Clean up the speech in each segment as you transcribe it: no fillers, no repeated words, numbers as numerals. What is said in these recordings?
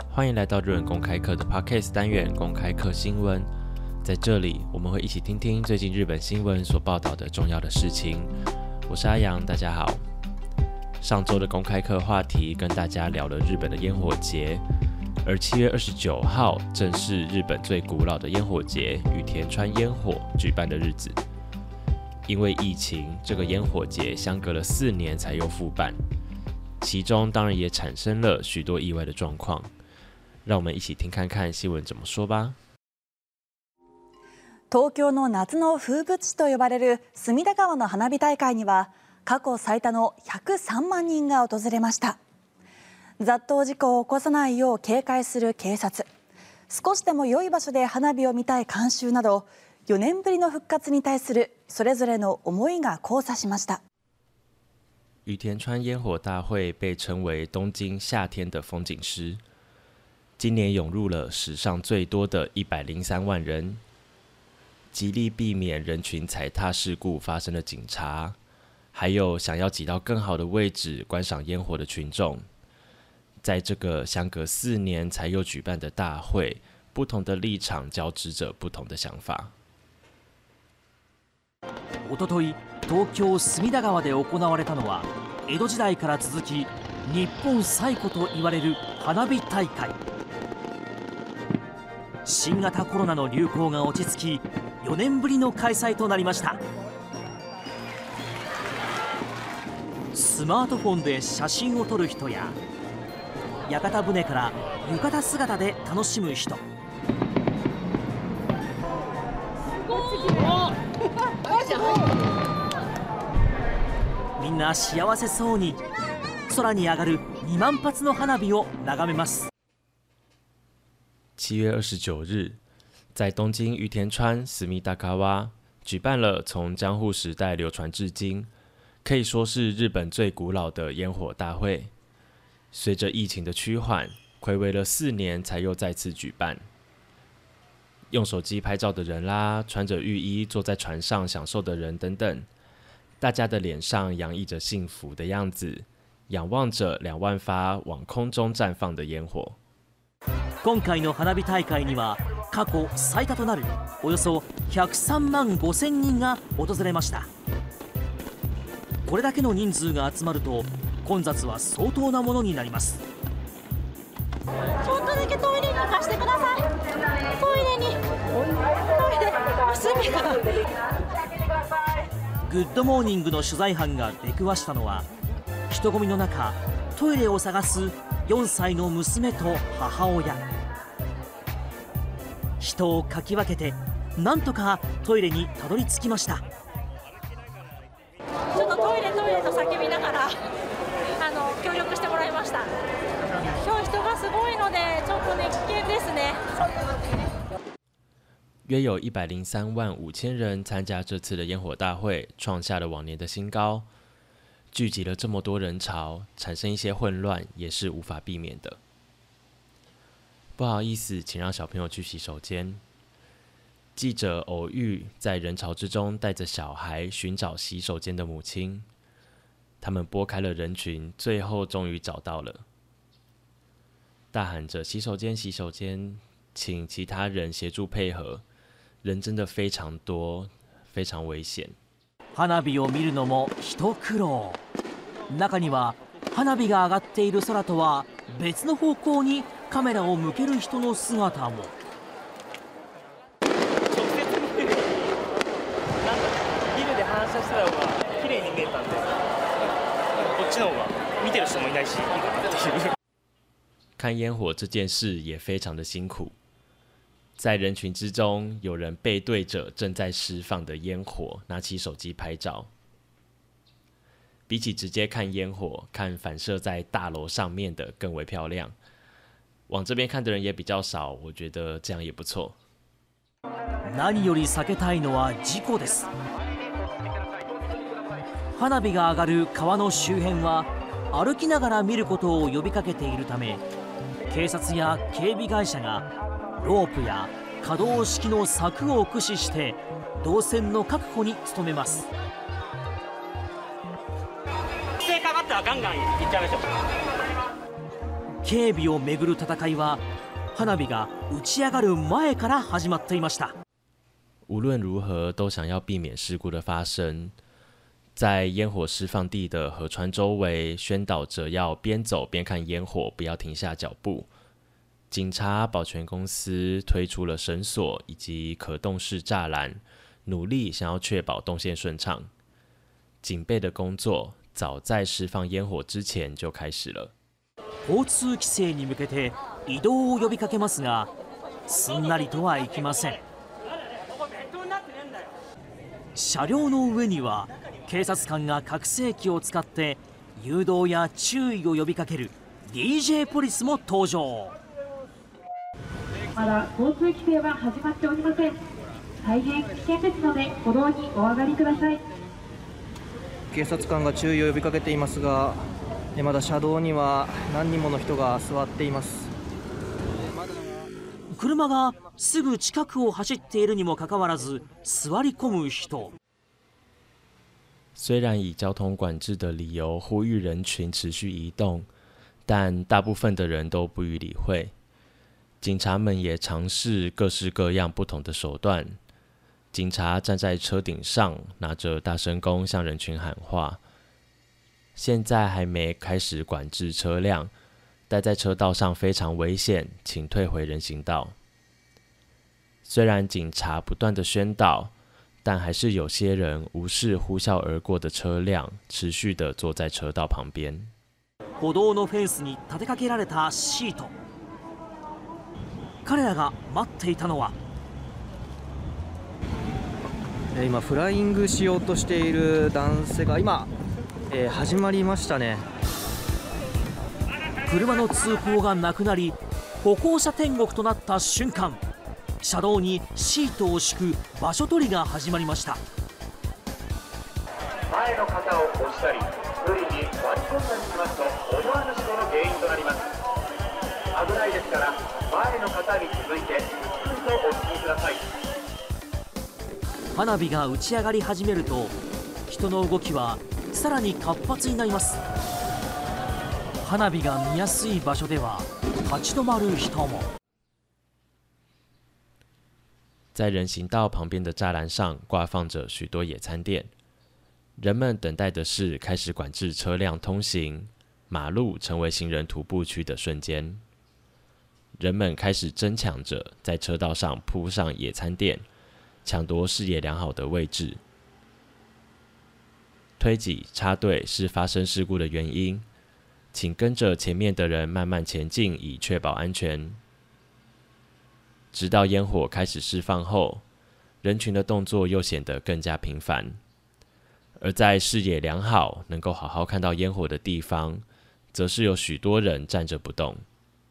欢迎来到日文公开课的 Podcast 单元公开课新闻。在这里，我们会一起听听最近日本新闻所报道的重要的事情。我是阿阳，大家好。上周的公开课话题跟大家聊了日本的烟火节，而7月29号正是日本最古老的烟火节羽田川烟火举办的日子。因为疫情，这个烟火节相隔了4年才又复办，其中当然也产生了许多意外的状况。让我们一起听看看新闻怎么说吧。 東京の夏の風物詩と呼ばれる隅田川の花火大会には過去最多の103万人が訪れました。雑踏事故を起こさないよう警戒する警察、少しでも良い場所で花火を見たい観衆など、4年ぶりの復活に対するそれぞれの思いが交差しました。 羽田川烟火大会被称为东京夏天的风景诗，今年涌入了史上最多的103万人。极力避免人群踩踏事故发生的警察，还有想要挤到更好的位置观赏烟火的群众，在这个相隔4年才又举办的大会，不同的立场交织着不同的想法。 おととい、東京隅田川で行われたのは、江戸時代から続き日本最古と言われる花火大会。新型コロナの流行が落ち着き、4年ぶりの開催となりました。スマートフォンで写真を撮る人や、屋形船から浴衣姿で楽しむ人、みんな幸せそうに空に上がる2万発の花火を眺めます。 7月29日，在东京羽田川隅田川举办了从江户时代流传至今，可以说是日本最古老的烟火大会。随着疫情的趋缓，睽违了4年才又再次举办。用手机拍照的人啦，穿着浴衣坐在船上享受的人等等，大家的脸上洋溢着幸福的样子，仰望着2万发往空中绽放的烟火。 今回の花火大会には過去最多となるおよそ103万5000人が訪れました。これだけの人数が集まると混雑は相当なものになります。 ちょっとだけトイレに行かせてください。トイレ娘が。 グッドモーニングの取材班が出くわしたのは、人混みの中トイレを探す4歳の娘と母親。人をかき分けてなんとかトイレにたどり着きました。 ちょっとトイレと叫びながら協力してもらいました。今日人がすごいのでちょっとね危険ですね。 约有103万5千人参加这次的烟火大会，创下了往年的新高。聚集了这么多人潮，产生一些混乱也是无法避免的。不好意思，请让小朋友去洗手间。记者偶遇在人潮之中带着小孩寻找洗手间的母亲，他们拨开了人群，最后终于找到了，大喊着洗手间洗手间，请其他人协助配合。人真的非常多，非常危险。 花火を見るのも一苦労。中には花火が上がっている空とは別の方向にカメラを向ける人の姿も。 直接見てなんかビルで反射した方が綺麗に見えたんで、こっちの方が見てる人もいないしいいかなっていう。 看烟火这件事也非常的辛苦。在人群之中，有人背对着正在释放的烟火，拿起手机拍照。比起直接看烟火，看反射在大楼上面的更为漂亮。往这边看的人也比较少，我觉得这样也不错。 何より避けたいのは事故です。花火が上がる川の周辺は歩きながら見ることを呼びかけているため、警察や警備会社がロープや可動式の柵を駆使して動線の確保に努めます。 規制かかったらガンガン行っちゃいましょう。 警備をめぐる戦いは花火が打ち上がる前から始まっていました。 无论如何都想要避免事故的发生，在烟火释放地的河川周围宣导着要边走边看烟火，不要停下脚步。警察、保全公司推出了绳索以及可动式栅栏，努力想要确保动线顺畅。警备的工作早在释放烟火之前就开始了。 交通規制に向けて移動を呼びかけますが、すんなりとはいきません。車両の上には警察官が拡声器を使って誘導や注意を呼びかける DJ ポリスも登場。 まだ交通規制は始まっておりません。大変危険ですので歩道にお上がりください。 警察官が注意を呼びかけていますが、まだ車道には何人もの人が座っています。 車がすぐ近くを走っているにもかかわらず座り込む人。 虽然以交通管制的理由呼吁人群持续移动，但大部分的人都不予理会。警察们也尝试各式各样不同的手段。警察站在车顶上，拿着大声公向人群喊话。现在还没开始管制车辆，待在车道上非常危险，请退回人行道。虽然警察不断的宣导，但还是有些人无视呼啸而过的车辆，持续的坐在车道旁边。 歩道のフェンスに立てかけられたシート。彼らが待っていたのは、 今フライングしようとしている男性が今、始まりましたね。 車の通行がなくなり歩行者天国となった瞬間、車道にシートを敷く場所取りが始まりました。 前の方を押したり無理に割り込んだりしますと思わぬ事故の原因となります。危ないですから前の方に続いてゆっくりとお進みください。 花火が打ち上がり始めると人の動きはさらに活発になります。花火が見やすい場所では立ち止まる人も。 在人行道旁边的栅栏上挂放着许多野餐垫，人们等待的是开始管制车辆通行，马路成为行人徒步区的瞬间。人们开始争抢着在车道上铺上野餐垫，抢夺视野良好的位置。推挤插队是发生事故的原因，请跟着前面的人慢慢前进，以确保安全。直到烟火开始释放后，人群的动作又显得更加频繁。而在视野良好、能够好好看到烟火的地方，则是有许多人站着不动。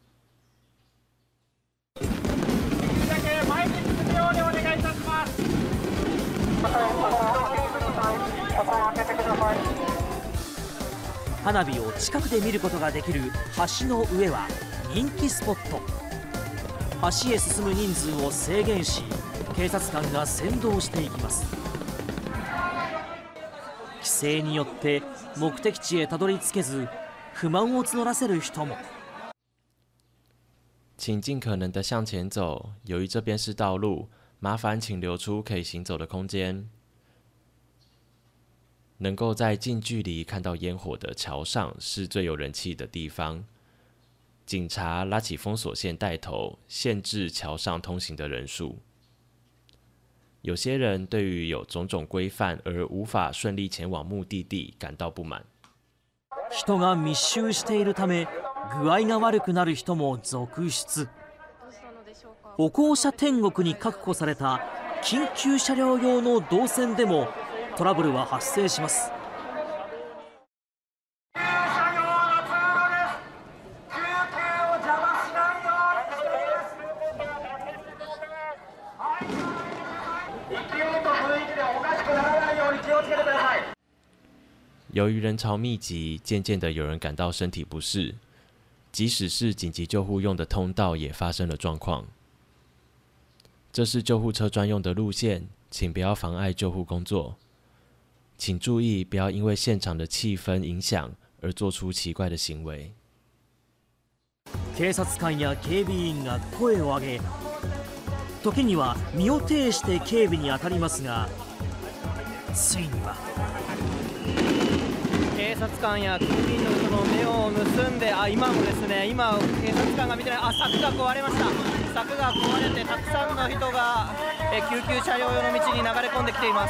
花火を近くで見ることができる橋の上は人気スポット。橋へ進む人数を制限し、警察官が先導していきます。規制によって目的地へたどり着けず不満を募らせる人も。 请尽可能的向前走，由于这边是道路，麻烦请留出可以行走的空间。能够在近距离看到烟火的桥上是最有人气的地方。警察拉起封锁线带头，限制桥上通行的人数。有些人对于有种种规范而无法顺利前往目的地感到不满。 人が密集しているため具合が悪くなる人も続出。歩行者天国に確保された緊急車両用の動線でもトラブルは発生します。 由于人潮密集，渐渐的有人感到身体不适，即使是紧急救护用的通道也发生了状况。这是救护车专用的路线，请不要妨碍救护工作。请注意，不要因为现场的气氛影响而做出奇怪的行为。 警察官や警備員が声を上げ、時には身を挺して警備に当たりますが、ついには警察官や警備員の人の目を盗んで、今もですね、今警察官が見てない、柵が壊れました。柵が壊れてたくさんの人が救急車両用の道に流れ込んできています。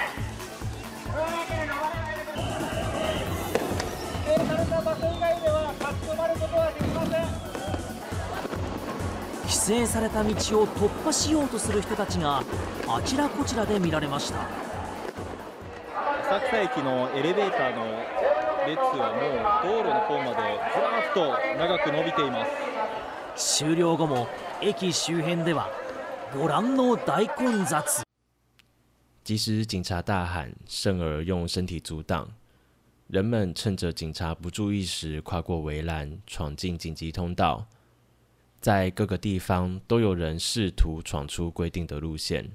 指定された場所以外では立ち止まることはできません。 規制された道を突破しようとする人たちがあちらこちらで見られました。 浅草駅のエレベーターの列はもう道路の方までずらっと長く伸びています。 終了後も駅周辺ではご覧の大混雑。 即使警察大喊，甚而用身体阻挡，人们趁着警察不注意时跨过围栏，闯进紧急通道。在各个地方都有人试图闯出规定的路线。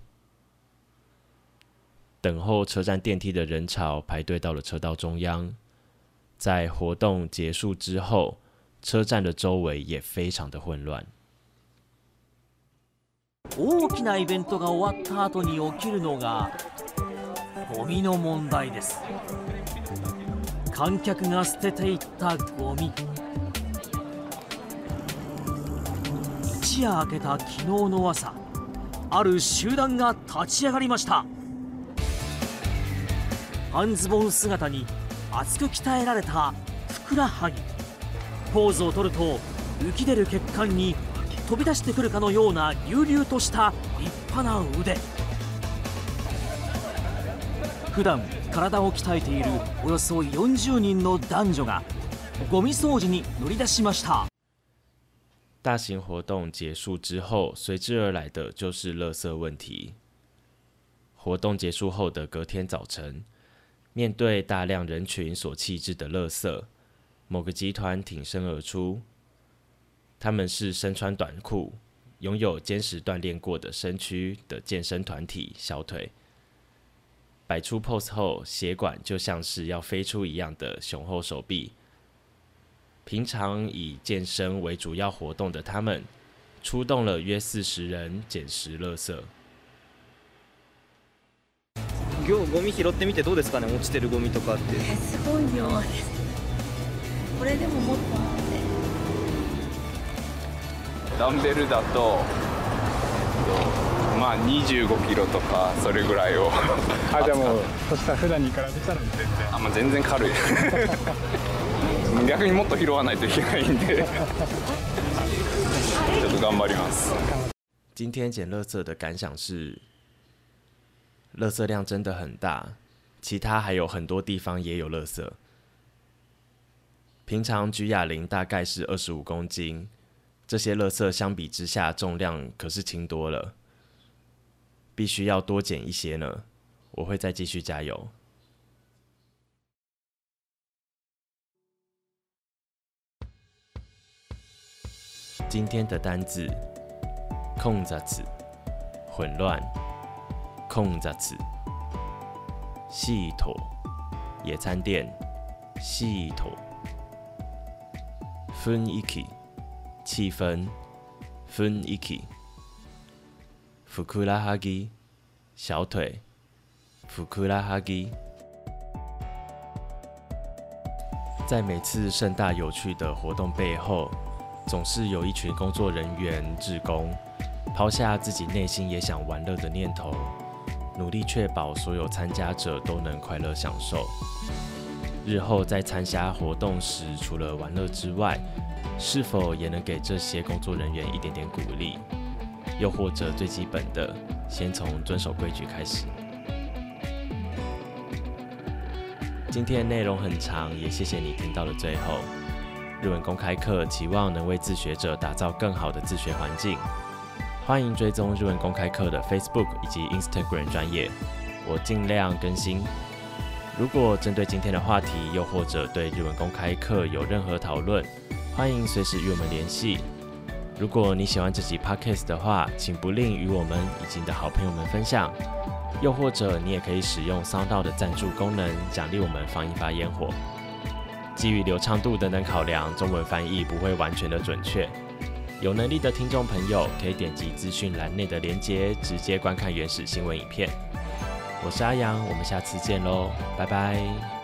等候车站电梯的人潮排队到了车道中央。在活动结束之后，车站的周围也非常的混乱。 大きなイベントが終わった後に起きるのがゴミの問題です。観客が捨てていったゴミ。一夜明けた昨日の朝、ある集団が立ち上がりました。半ズボン姿に厚く鍛えられたふくらはぎ。ポーズを取ると浮き出る血管に飛び出してくるかのような隆々とした立派な腕。普段体を鍛えているおよそ40人の男女がゴミ掃除に乗り出しました。 大型活动结束之后，随之而来的就是垃圾问题。活动结束后的隔天早晨，面对大量人群所弃置的垃圾，某个集团挺身而出。他们是身穿短裤、拥有坚实锻炼过的身躯的健身团体小腿。摆出 pose 后，血管就像是要飞出一样的雄厚手臂。平常以健身为主要活动的他们，出动了约40人捡拾垃圾。 ゴミ拾ってみてどうですかね、落ちてるゴミとかって。 すごい量です。これでももっとあって。 ダンベルだと、まあ25キロとかそれぐらいを。 じゃあもうそしたら普段に比べたら全然。 まあ全然軽い。逆にもっと拾わないといけないんで、ちょっと頑張ります。 今天捡垃圾的感想是，垃圾量真的很大，其他还有很多地方也有垃圾。平常举哑铃大概是25公斤，这些垃圾相比之下重量可是轻多了，必须要多捡一些呢。我会再继续加油。今天的单字混雑、混乱。混雑、シート、野餐店、シート。雰囲気、气氛、雰囲気。ふくらはぎ、小腿、ふくらはぎ。在每次盛大有趣的活动背后，总是有一群工作人员、志工，抛下自己内心也想玩乐的念头，努力确保所有参加者都能快乐享受。日后在参加活动时，除了玩乐之外，是否也能给这些工作人员一点点鼓励？又或者最基本的，先从遵守规矩开始。今天的内容很长，也谢谢你听到了最后。日文公开课期望能为自学者打造更好的自学环境。欢迎追踪日文公开课的 Facebook 以及 Instagram 专页，我尽量更新。如果针对今天的话题，又或者对日文公开课有任何讨论，欢迎随时与我们联系。如果你喜欢这集 Podcast 的话，请不吝与我们以及你的好朋友们分享。又或者你也可以使用SoundOut的赞助功能，奖励我们放一发烟火。 基于流畅度等等考量，中文翻译不会完全的准确。有能力的听众朋友可以点击资讯栏内的连结，直接观看原始新闻影片。我是阿阳，我们下次见喽，拜拜。